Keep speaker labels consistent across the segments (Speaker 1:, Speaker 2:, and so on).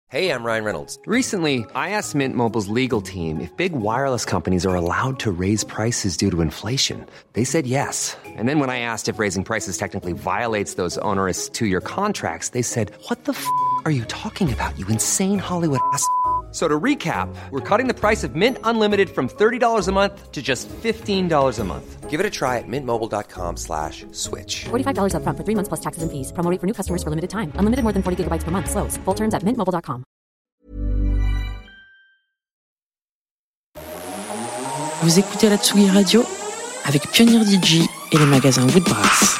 Speaker 1: Hey, I'm Ryan Reynolds.
Speaker 2: Recently, I asked Mint Mobile's legal team if big wireless companies are allowed to raise prices due to inflation. They said yes. And then when I asked if raising prices technically violates those onerous two-year contracts, they said, "What the f*** are you talking about, you insane Hollywood ass?" So to recap, we're cutting the price of Mint Unlimited from $30 a month to just $15 a month.
Speaker 1: Give it a try at mintmobile.com/switch.
Speaker 3: $45 up front for 3 months plus taxes and fees. Promo rate for new customers for limited time. Unlimited more than 40 gigabytes per month. Slows full terms at mintmobile.com.
Speaker 4: Vous écoutez la Tsugi Radio avec Pionnier DJ et les magasins Woodbrass.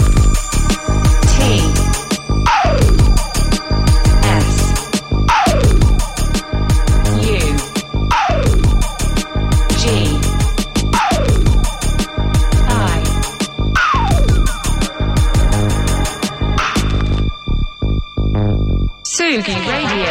Speaker 5: Tsugi Radio.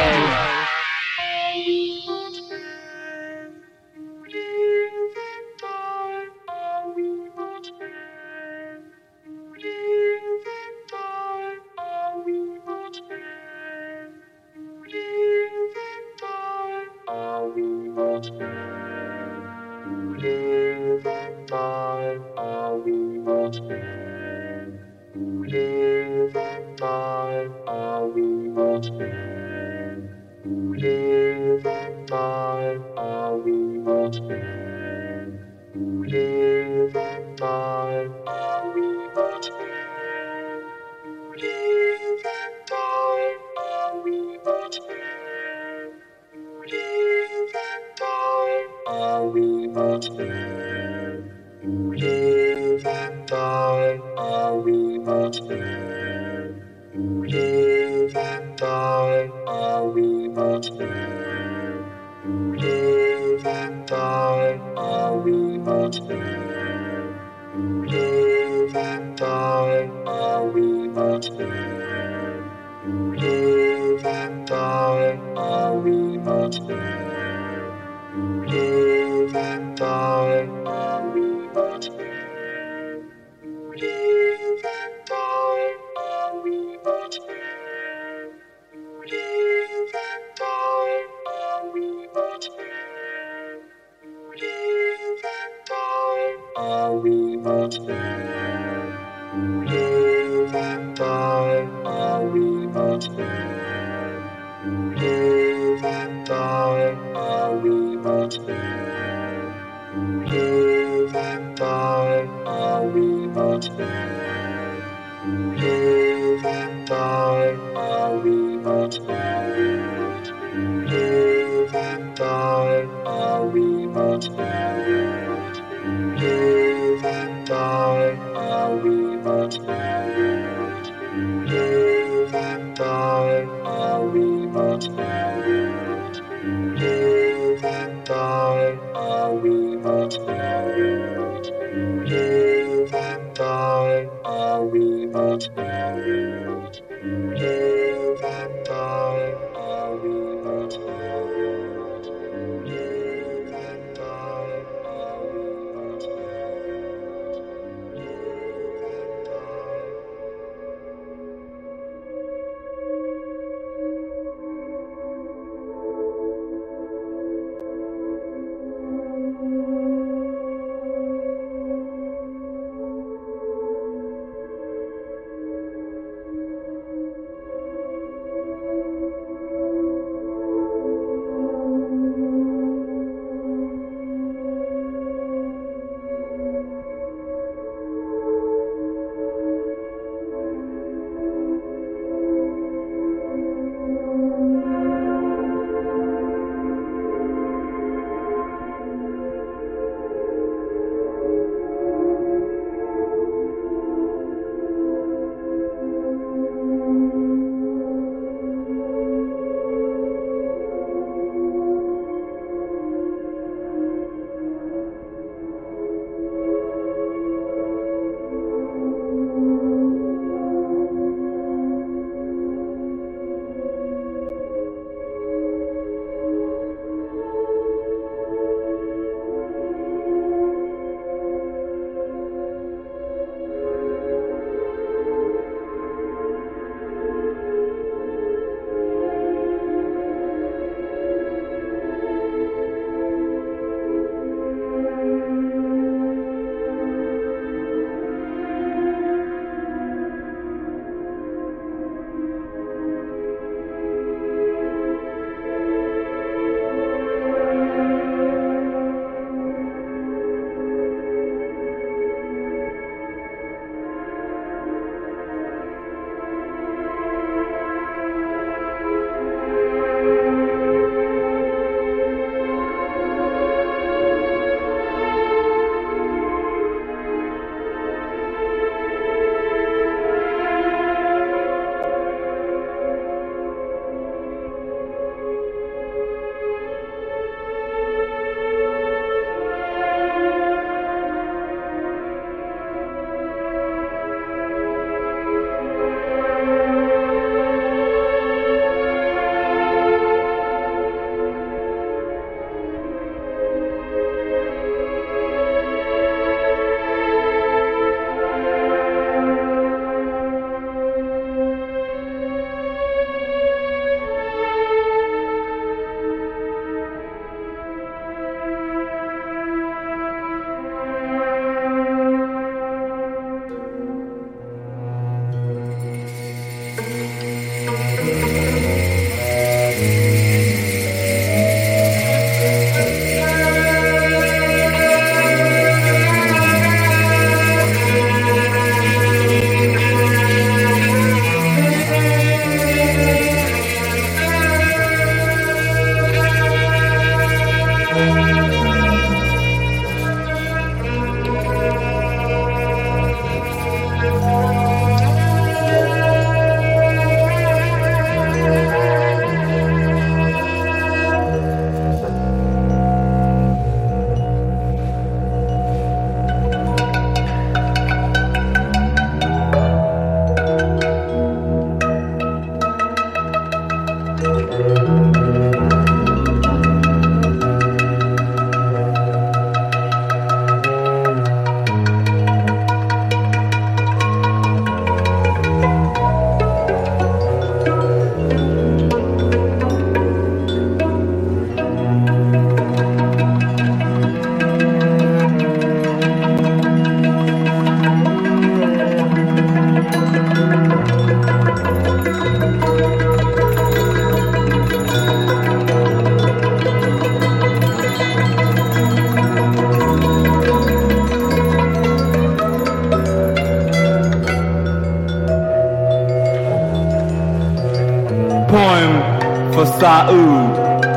Speaker 6: Saud.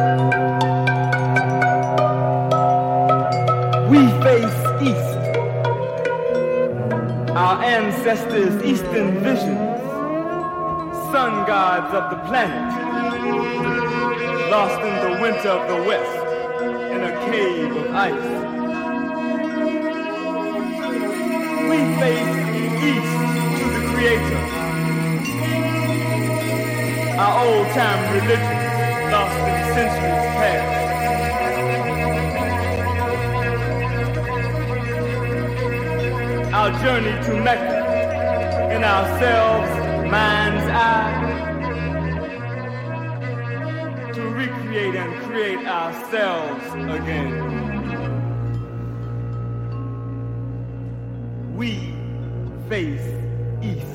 Speaker 6: We face east. Our ancestors' eastern visions, sun gods of the planet, lost in the winter of the west, in a cave of ice. We face east to the Creator. Our old-time religions, lost in centuries past. Our journey to Mecca, in ourselves, mind's eye, to recreate and create ourselves again. We face east.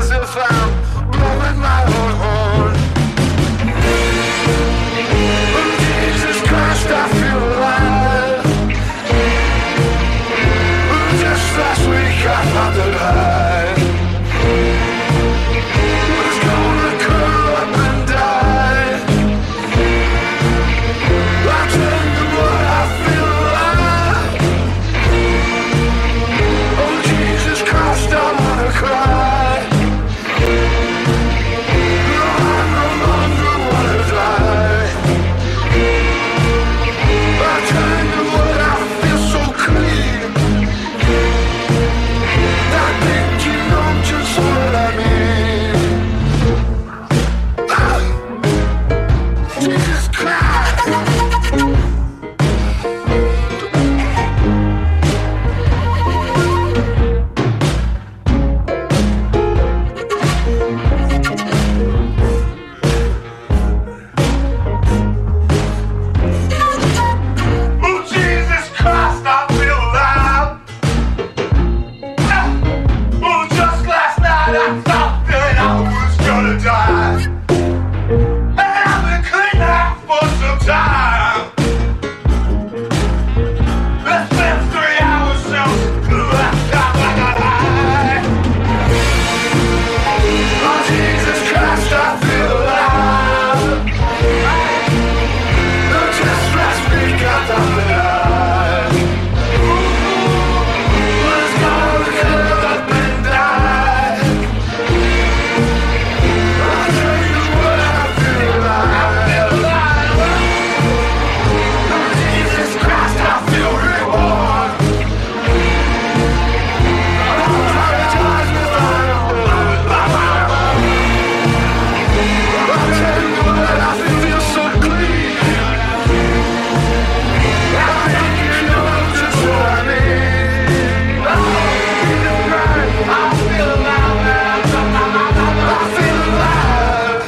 Speaker 7: as if I'm blowing my own horn. Oh, Jesus Christ, I feel alive. Oh, just last week I found the light. Was gonna curl up and die. I tell you what, I feel alive. Oh, Jesus Christ, I wanna cry. No, I no longer wanna die. I tell you what, I feel so clean. I think you know just what I mean. Jesus Christ. Oh, Jesus Christ, I feel alive. Oh, just last night I thought that I was gonna die. And I've been clean out for some time. It's been 3 hours since the last time I got high. Oh, Jesus Christ, I feel alive. Oh, just last week I thought that I was gonna curl up and die. I'll tell you what, I feel alive. Oh, Jesus Christ, I feel reborn. I'll apologize if I don't. I'll tell you what, I feel so clean. I think you know just what I mean. Oh, Jesus Christ, I feel alive. I feel alive.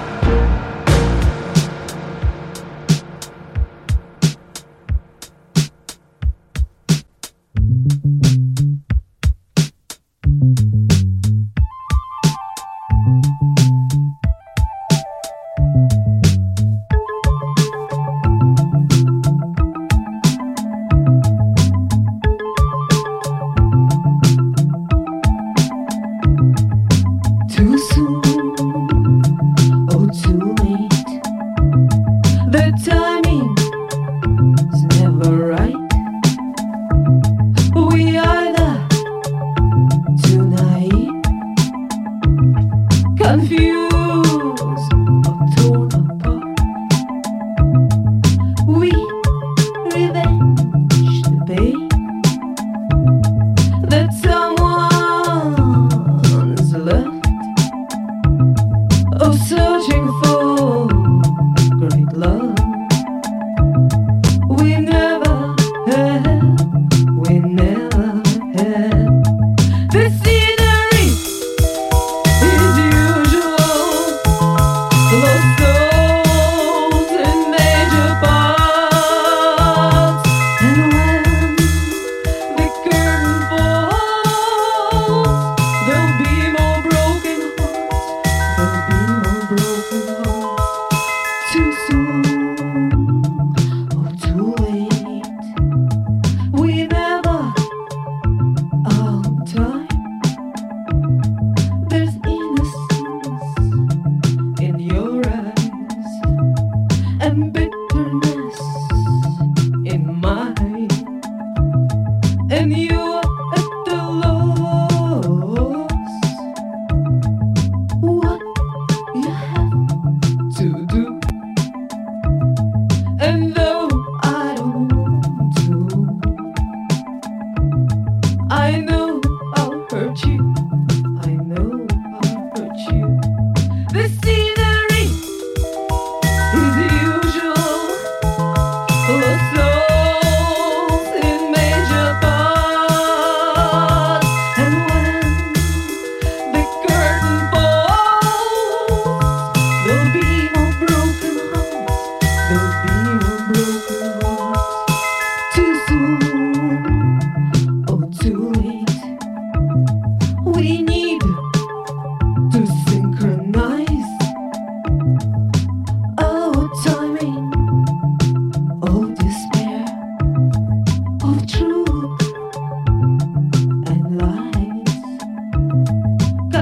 Speaker 8: Too soon, oh too late. The timing is never right. We either too naive, confused or torn apart. We revenge the pain that someone's left. Oh, searching for great love we never had, we never had. The scenery is usual.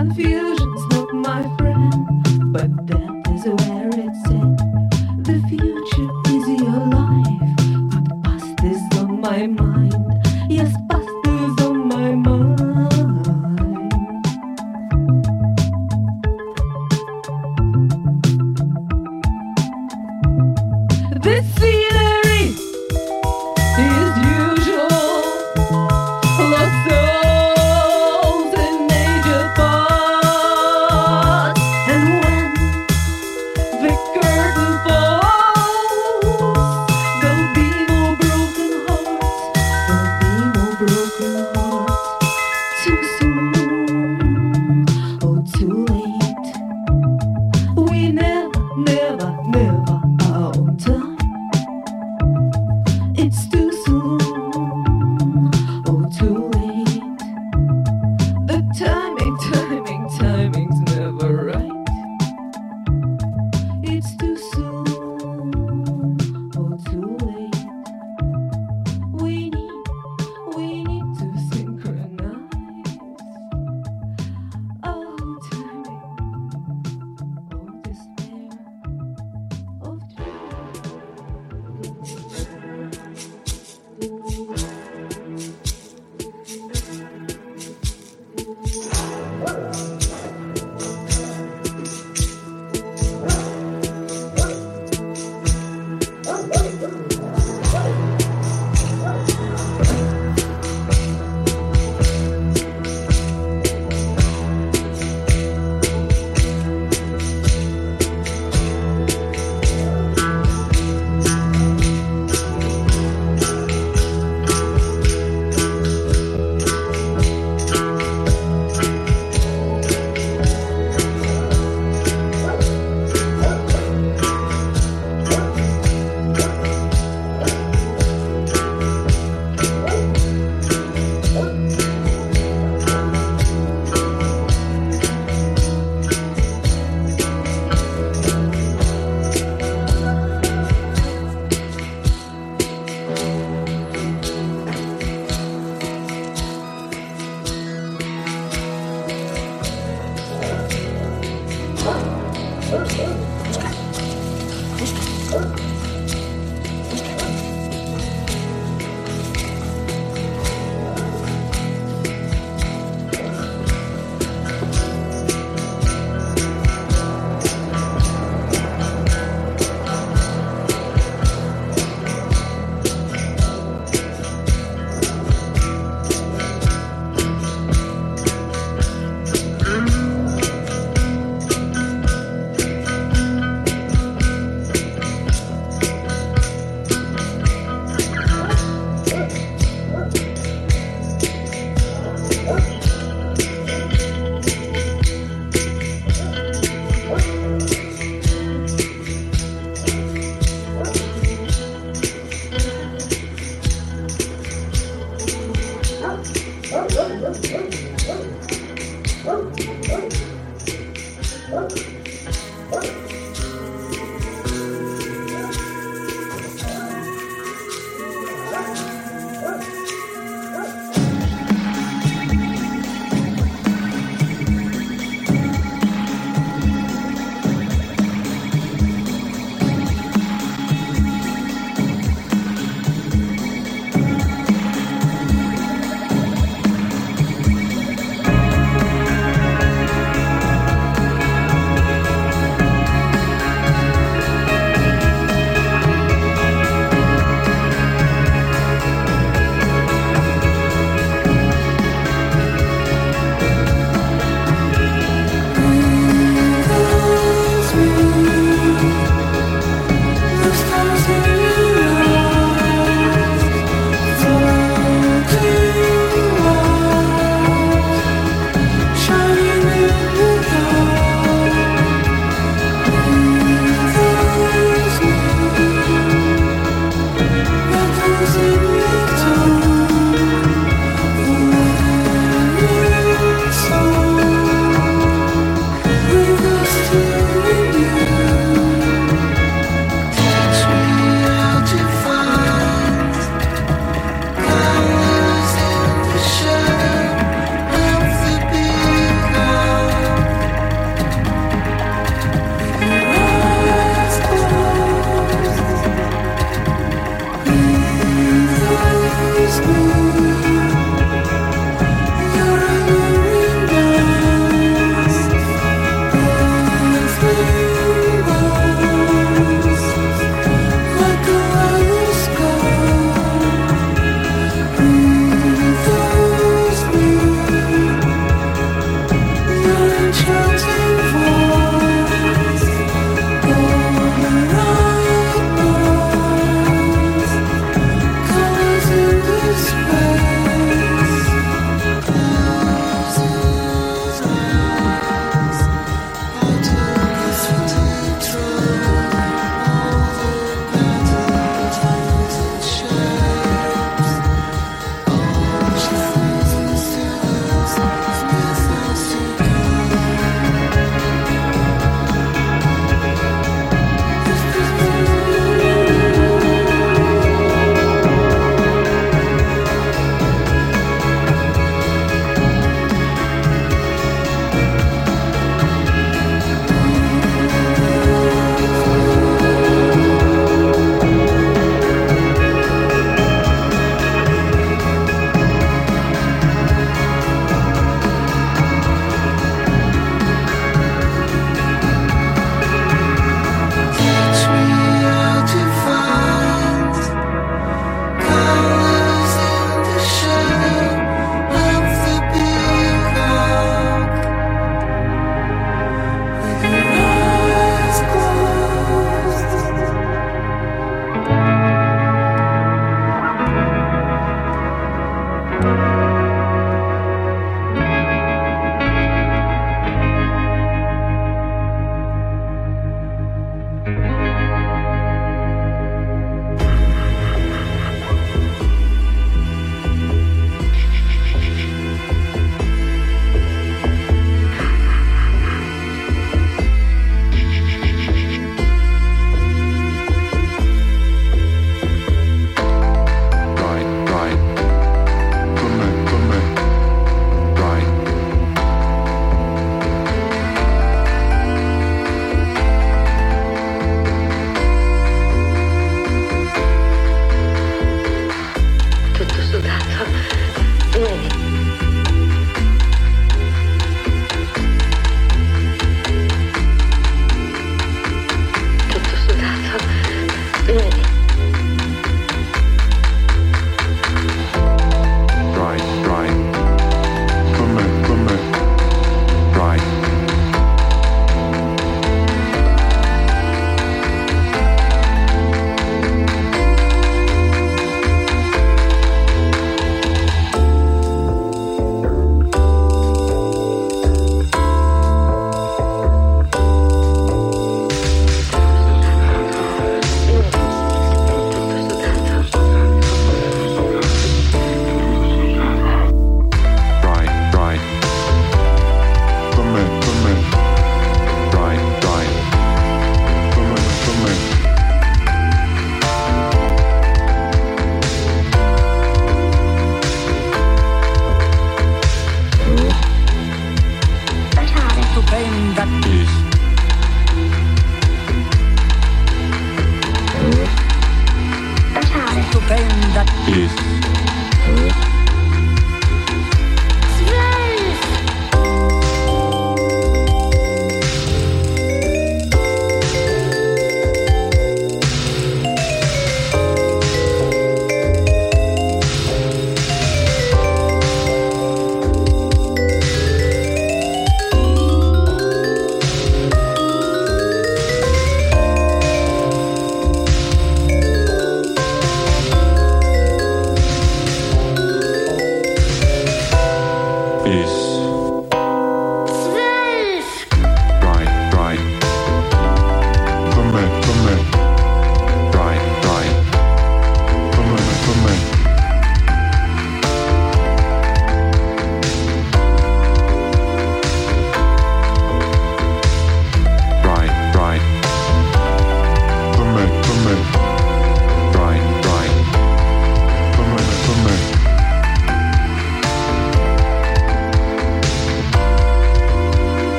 Speaker 8: Confusion's not my friend, but that is where it's at. The future is your life, but past is on my mind. Yes, past is on my mind. This scenery is usual. Lost souls in major parts. And when the curtain falls, there'll be no broken hearts. There'll be no broken hearts. Too soon, oh too late. We never, never, never are on time. It's too soon, oh too late. The timing's never right. It's too soon, oh too late. We need to synchronize. Oh timing, oh despair, oh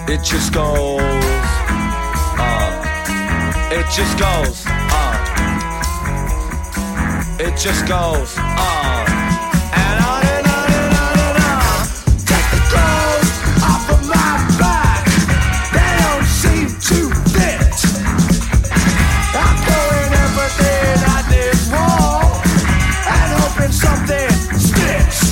Speaker 9: It just goes, it just goes, it just goes, and on and on and on and on. Take the clothes off of my back, they don't seem to fit. I'm throwing everything at this wall and hoping something sticks.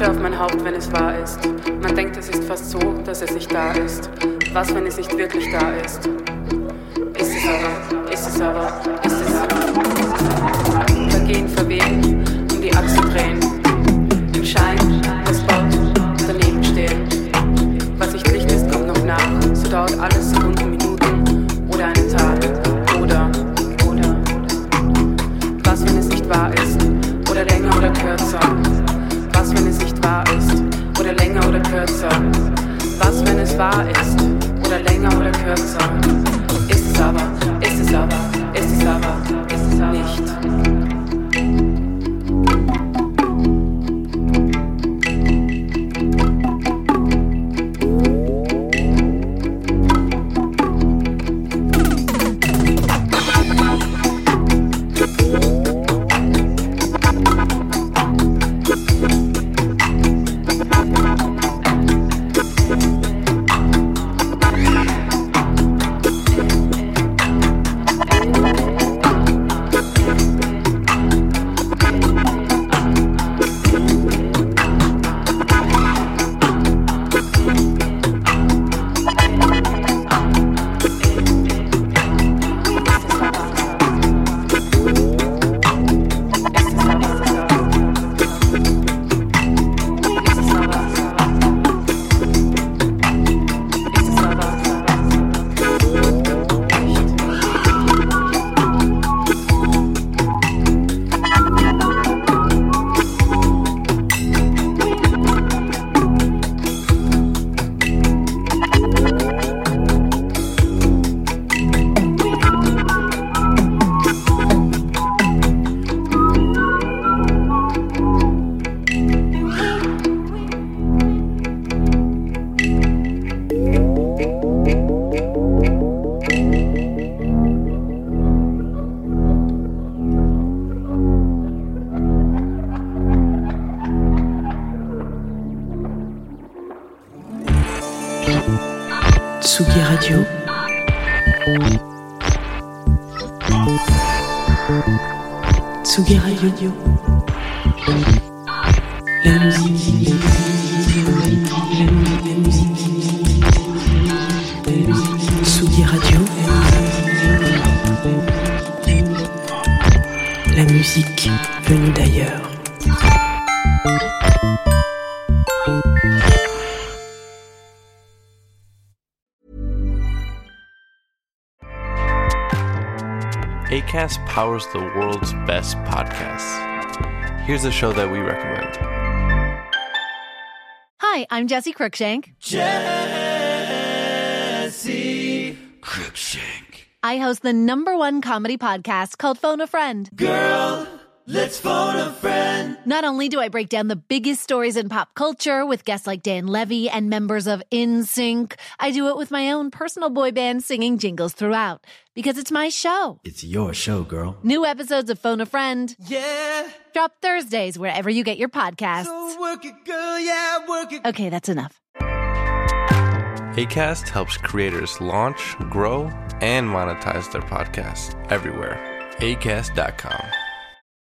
Speaker 10: Asche auf mein Haupt, wenn es wahr ist. Man denkt, es ist fast so, dass es nicht da ist. Was, wenn es nicht wirklich da ist? Ist es aber, ist es aber, ist es. Vergehen, verwehen, um die Achse drehen. Im Schein, das Spot, daneben stehen. Was nicht Licht ist, kommt noch nach. So dauert alles Sekunden, Minuten oder einen Tag. Oder. Was, wenn es nicht wahr ist? Oder länger oder kürzer? Was, wenn es nicht wahr ist? Oder länger oder kürzer? Was, wenn es wahr ist? Oder länger oder kürzer? Ist es aber, ist es aber, ist es aber, ist es aber nicht.
Speaker 4: Tsugi Radio. Tsugi Radio. La musique. Tsugi Radio. La musique venue d'ailleurs.
Speaker 11: Acast powers the world's best podcasts. Here's a show that we recommend.
Speaker 12: Hi, I'm Jessie Cruikshank.
Speaker 9: Jessie Cruikshank.
Speaker 12: I host the #1 comedy podcast called Phone a Friend.
Speaker 9: Girl, let's phone a friend.
Speaker 12: Not only do I break down the biggest stories in pop culture with guests like Dan Levy and members of NSYNC, I do it with my own personal boy band singing jingles throughout. Because it's my show.
Speaker 9: It's your show, girl.
Speaker 12: New episodes of Phone a Friend.
Speaker 9: Yeah.
Speaker 12: Drop Thursdays wherever you get your podcasts.
Speaker 9: So work it, girl, yeah, work it.
Speaker 12: Okay, that's enough.
Speaker 11: Acast helps creators launch, grow, and monetize their podcasts everywhere. Acast.com.